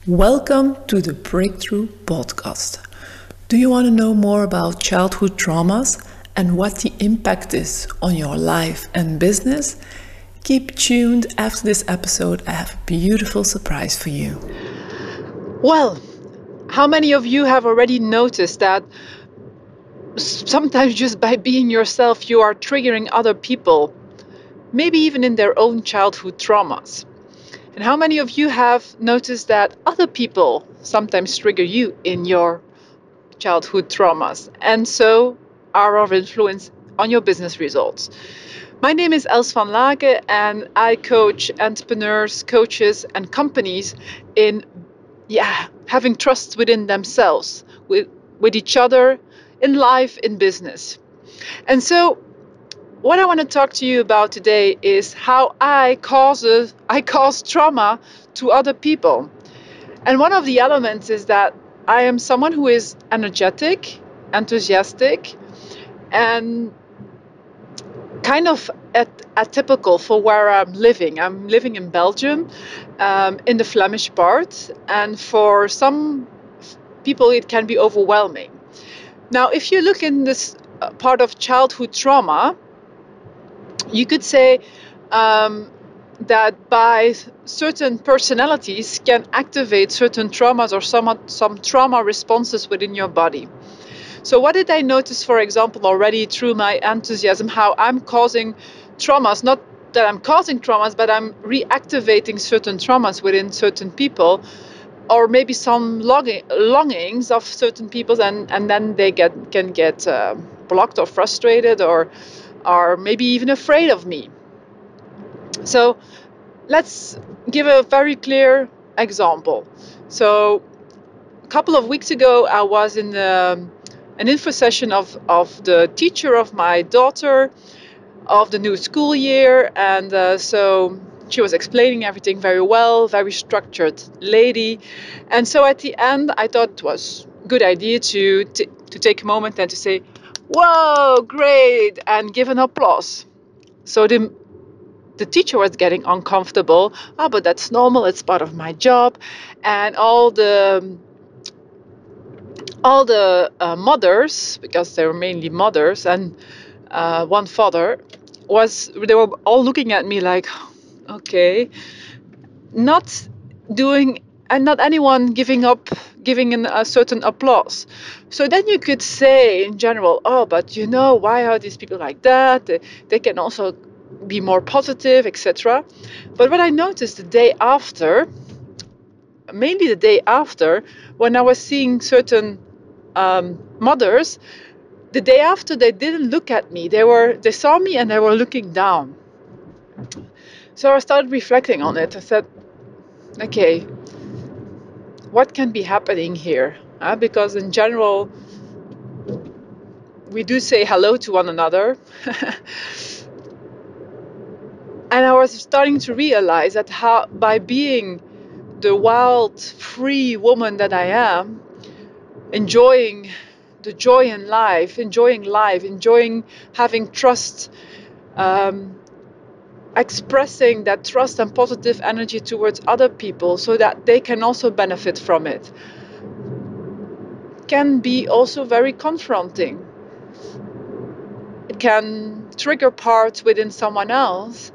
Welcome to the Breakthrough Podcast. Do you want to know more about childhood traumas and what the impact is on your life and business? Keep tuned. After this episode, I have a beautiful surprise for you. Well, how many of you have already noticed that sometimes just by being yourself, you are triggering other people, maybe even in their own childhood traumas? And how many of you have noticed that other people sometimes trigger you in your childhood traumas and so are of influence on your business results? My name is Els van Laken and I coach entrepreneurs, coaches, and companies in having trust within themselves, with each other, in life, in business. And so what I want to talk to you about today is how I cause trauma to other people. And one of the elements is that I am someone who is energetic, enthusiastic, and kind of atypical for where I'm living. I'm living in Belgium, in the Flemish part, and for some people it can be overwhelming. Now, if you look in this part of childhood trauma, you could say that by certain personalities can activate certain traumas or some trauma responses within your body. So what did I notice, for example, already through my enthusiasm, how I'm causing traumas, not that I'm causing traumas, but I'm reactivating certain traumas within certain people, or maybe some longings of certain people, and then they can get blocked or frustrated or maybe even afraid of me. So let's give a very clear example. So a couple of weeks ago, I was in an info session of the teacher of my daughter of the new school year, and so she was explaining everything very well, very structured lady. And so at the end, I thought it was a good idea to take a moment and to say, "Whoa, great," and give an applause. So the teacher was getting uncomfortable. But that's normal, it's part of my job. And all the mothers, because they were mainly mothers and one father, they were all looking at me like, okay, not doing, and not anyone giving a certain applause. So then you could say in general, but why are these people like that? They can also be more positive, etc. But what I noticed mainly the day after, when I was seeing certain mothers, the day after, they didn't look at me. They saw me and they were looking down. So I started reflecting on it. I said, okay, what can be happening here? Because in general, we do say hello to one another. And I was starting to realize that by being the wild, free woman that I am, enjoying the joy in life, enjoying having trust, expressing that trust and positive energy towards other people so that they can also benefit from it, can be also very confronting. It can trigger parts within someone else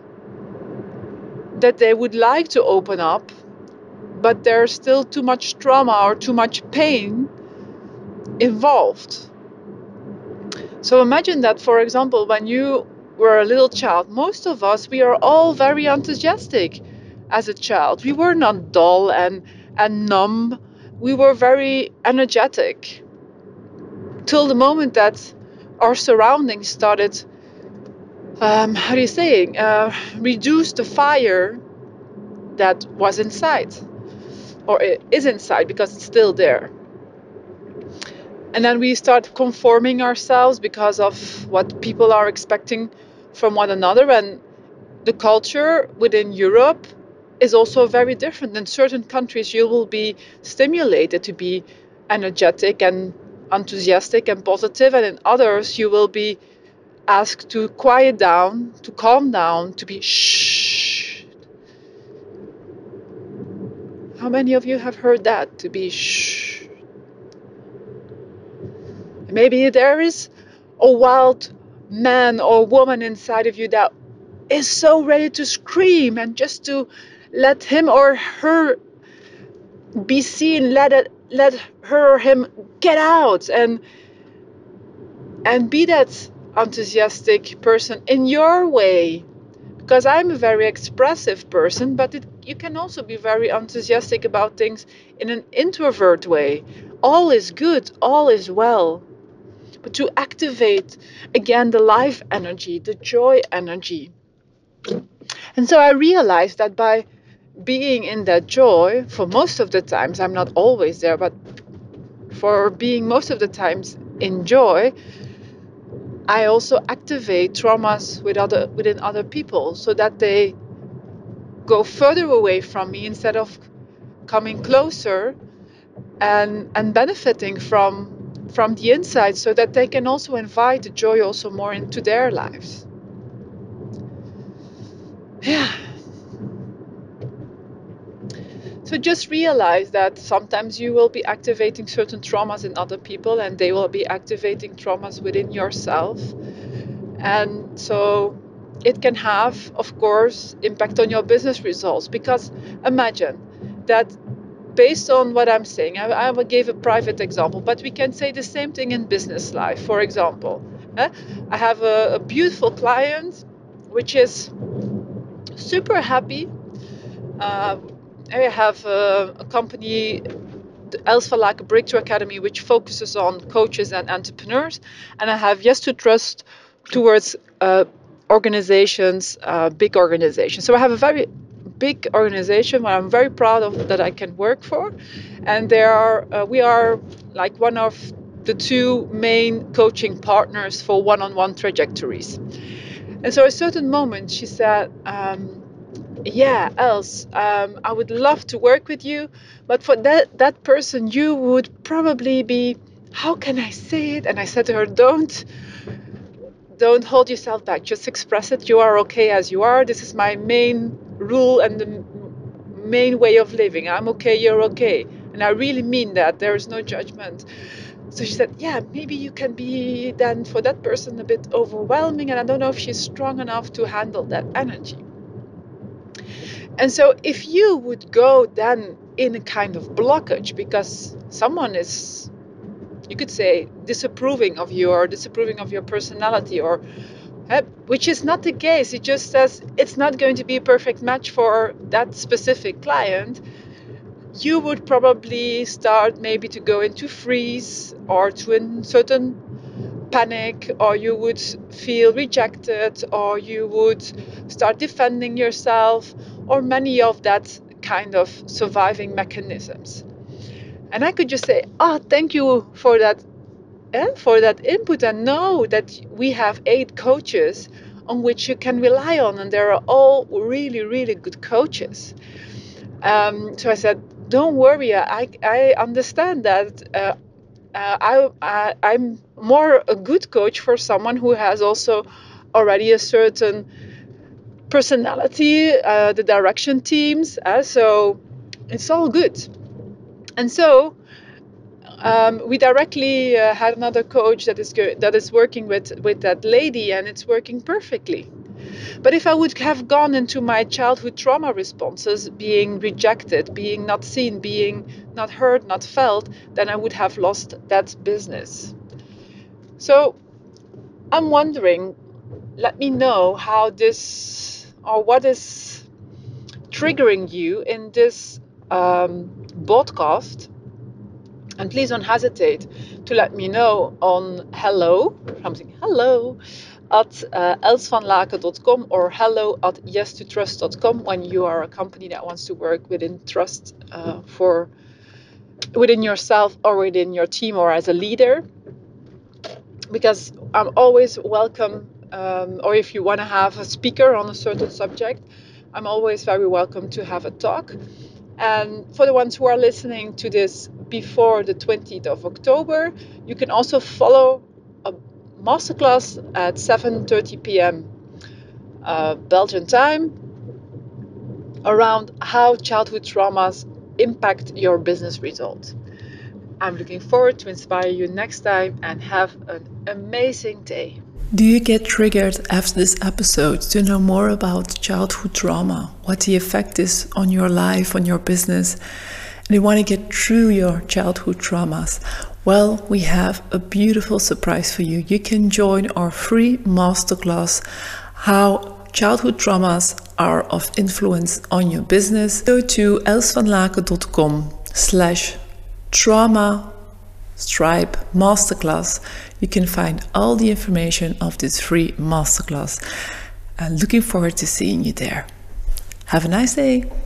that they would like to open up, but there's still too much trauma or too much pain involved. So imagine that, for example, when you were a little child, most of us, we are all very enthusiastic as a child. We were not dull and numb. We were very energetic till the moment that our surroundings started, reduce the fire that was inside, or it is inside because it's still there. And then we start conforming ourselves because of what people are expecting from one another. And the culture within Europe is also very different. In certain countries, you will be stimulated to be energetic and enthusiastic and positive, and in others, you will be asked to quiet down, to calm down, to be shh. How many of you have heard that? To be shh. Maybe there is a wild man or woman inside of you that is so ready to scream and just to let him or her be seen, let her or him get out and be that enthusiastic person in your way. Because I'm a very expressive person, but you can also be very enthusiastic about things in an introvert way. All is good, all is well. But to activate again the life energy, the joy energy. And so I realized that by being in that joy, for most of the times, I'm not always there, but for being most of the times in joy, I also activate traumas within other people so that they go further away from me instead of coming closer and benefiting from the inside, so that they can also invite the joy also more into their lives. Yeah. So just realize that sometimes you will be activating certain traumas in other people and they will be activating traumas within yourself. And so it can have, of course, impact on your business results, because imagine that based on what I'm saying, I will give a private example, but we can say the same thing in business life. For example, I have a beautiful client which is super happy. I have a company, Els van Laken Breakthrough Academy, which focuses on coaches and entrepreneurs. And I have Yes to Trust towards organizations, big organizations. So I have a very big organization where I'm very proud of that I can work for. And we are like one of the two main coaching partners for one-on-one trajectories. And so at a certain moment, she said, yeah, Els, I would love to work with you, but for that person, you would probably be, how can I say it? And I said to her, don't hold yourself back. Just express it. You are okay as you are. This is my main rule and the main way of living. I'm okay, you're okay. And I really mean that. There is no judgment. So she said, yeah, maybe you can be then for that person a bit overwhelming, and I don't know if she's strong enough to handle that energy. And so if you would go then in a kind of blockage because someone is, you could say, disapproving of you or disapproving of your personality, or which is not the case, it just says it's not going to be a perfect match for that specific client, you would probably start maybe to go into freeze or to a certain panic, or you would feel rejected, or you would start defending yourself, or many of that kind of surviving mechanisms. And I could just say, oh, thank you for that input, and know that we have 8 coaches on which you can rely on, and they're all really, really good coaches. So I said, don't worry, I understand that. I'm more a good coach for someone who has also already a certain personality, the direction teams, so it's all good. And so we directly had another coach that is working with that lady, and it's working perfectly. But if I would have gone into my childhood trauma responses, being rejected, being not seen, being not heard, not felt, then I would have lost that business. So I'm wondering, let me know how this, or what is triggering you in this podcast. And please don't hesitate to let me know on hello at elsvanlaken.com or hello at yes2trust.com when you are a company that wants to work within trust for within yourself or within your team or as a leader. Because I'm always welcome, or if you want to have a speaker on a certain subject, I'm always very welcome to have a talk. And for the ones who are listening to this before the 20th of October, you can also follow a masterclass at 7:30 p.m. Belgian time around how childhood traumas impact your business result. I'm looking forward to inspire you next time, and have an amazing day. Do you get triggered after this episode to know more about childhood trauma, what the effect is on your life, on your business, and you want to get through your childhood traumas? Well, we have a beautiful surprise for you. You can join our free masterclass, How Childhood Traumas Are of Influence on Your Business. Go to elsvanlaken.com/trauma Stripe Masterclass. You can find all the information of this free masterclass. I'm looking forward to seeing you there. Have a nice day.